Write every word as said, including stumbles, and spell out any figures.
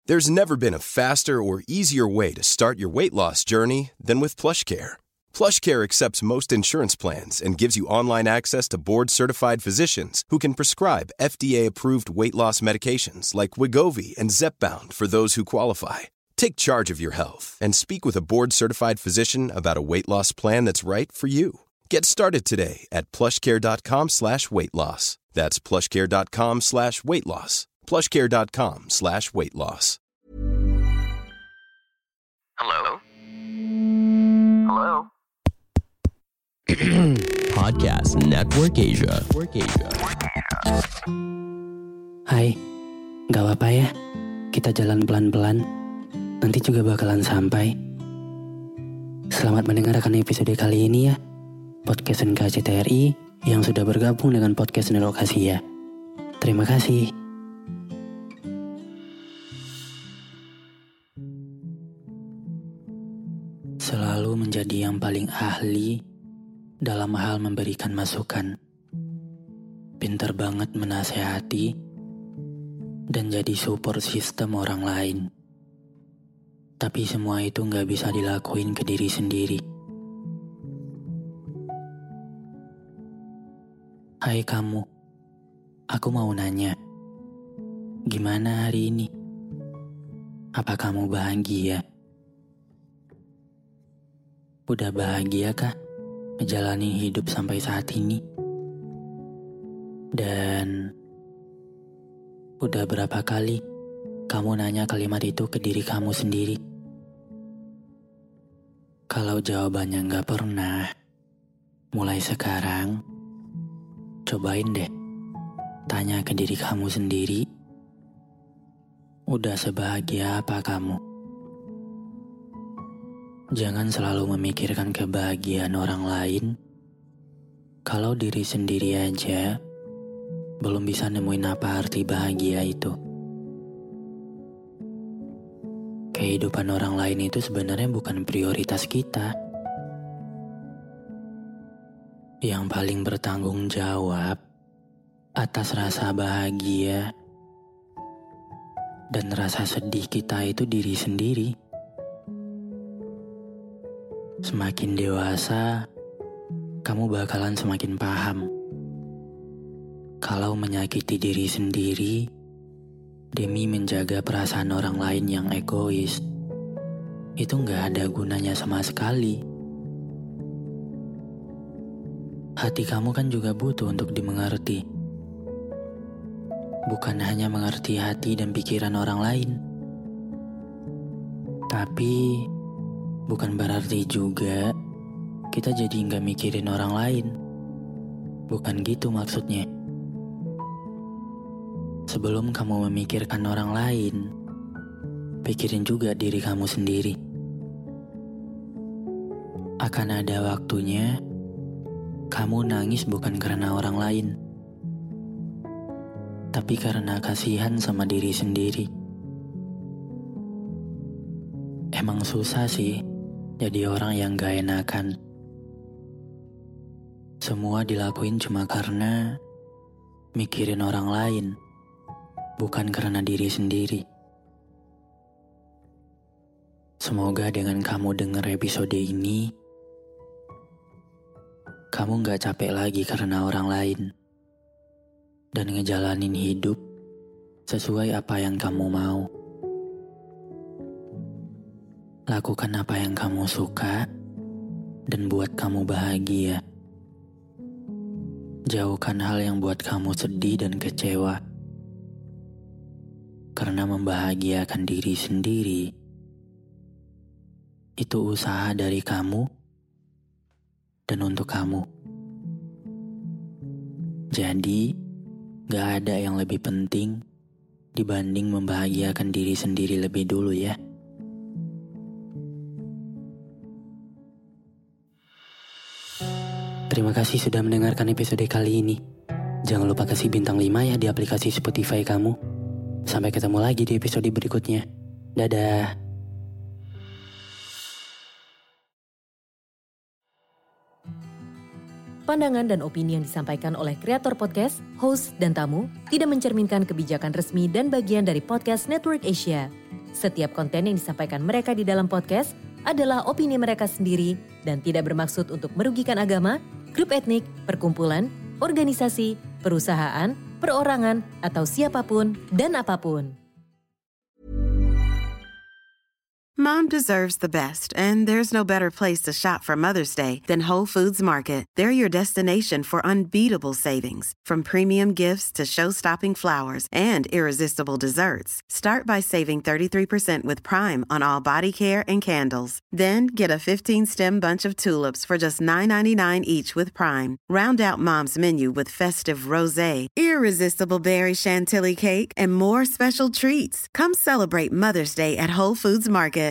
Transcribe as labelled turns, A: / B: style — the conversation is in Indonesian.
A: There's never been a faster or easier way to start your weight loss journey than with PlushCare. PlushCare accepts most insurance plans and gives you online access to board-certified physicians who can prescribe F D A-approved weight loss medications like Wegovy and Zepbound for those who qualify. Take charge of your health and speak with a board-certified physician about a weight loss plan that's right for you. Get started today at plushcare.com slash weight loss. That's plushcare.com slash weight loss. plushcare.com slash weight loss.
B: Hello? Hello?
C: Podcast Network Asia. Network Asia.
D: Hai, gak apa-apa ya, kita jalan pelan-pelan, nanti juga bakalan sampai. Selamat mendengarkan episode kali ini ya, Podcast N K C T R I yang sudah bergabung dengan Podcast Network Asia. Terima kasih. Selalu menjadi yang paling ahli dalam hal memberikan masukan. Pinter banget menasehati dan jadi support sistem orang lain. Tapi semua itu gak bisa dilakuin ke diri sendiri. Hai kamu, aku mau nanya, gimana hari ini? Apa kamu bahagia? Udah bahagia kah menjalani hidup sampai saat ini? Dan udah berapa kali kamu nanya kalimat itu ke diri kamu sendiri? Kalau jawabannya gak pernah, mulai sekarang cobain deh tanya ke diri kamu sendiri, udah sebahagia apa kamu? Jangan selalu memikirkan kebahagiaan orang lain kalau diri sendiri aja belum bisa nemuin apa arti bahagia itu. Kehidupan orang lain itu sebenarnya bukan prioritas kita. Yang paling bertanggung jawab atas rasa bahagia dan rasa sedih kita itu diri sendiri. Semakin dewasa, kamu bakalan semakin paham kalau menyakiti diri sendiri demi menjaga perasaan orang lain yang egois itu gak ada gunanya sama sekali. Hati kamu kan juga butuh untuk dimengerti. Bukan hanya mengerti hati dan pikiran orang lain. Tapi bukan berarti juga kita jadi nggak mikirin orang lain. Bukan gitu maksudnya. Sebelum kamu memikirkan orang lain, pikirin juga diri kamu sendiri. Akan ada waktunya kamu nangis bukan karena orang lain, tapi karena kasihan sama diri sendiri. Emang susah sih jadi orang yang gak enakan. Semua dilakuin cuma karena mikirin orang lain, bukan karena diri sendiri. Semoga dengan kamu denger episode ini, kamu gak capek lagi karena orang lain dan ngejalanin hidup sesuai apa yang kamu mau. Lakukan apa yang kamu suka dan buat kamu bahagia. Jauhkan hal yang buat kamu sedih dan kecewa. Karena membahagiakan diri sendiri itu usaha dari kamu dan untuk kamu. Jadi, gak ada yang lebih penting dibanding membahagiakan diri sendiri lebih dulu ya. Terima kasih sudah mendengarkan episode kali ini. Jangan lupa kasih bintang lima ya di aplikasi Spotify kamu. Sampai ketemu lagi di episode berikutnya. Dadah.
E: Pandangan dan opini yang disampaikan oleh kreator podcast, host, dan tamu tidak mencerminkan kebijakan resmi dan bagian dari Podcast Network Asia. Setiap konten yang disampaikan mereka di dalam podcast adalah opini mereka sendiri dan tidak bermaksud untuk merugikan agama, grup etnik, perkumpulan, organisasi, perusahaan, perorangan, atau siapapun dan apapun.
F: Mom deserves the best, and there's no better place to shop for Mother's Day than Whole Foods Market. They're your destination for unbeatable savings, from premium gifts to show-stopping flowers and irresistible desserts. Start by saving thirty-three percent with Prime on all body care and candles. Then get a fifteen-stem bunch of tulips for just nine ninety-nine each with Prime. Round out Mom's menu with festive rosé, irresistible berry chantilly cake, and more special treats. Come celebrate Mother's Day at Whole Foods Market.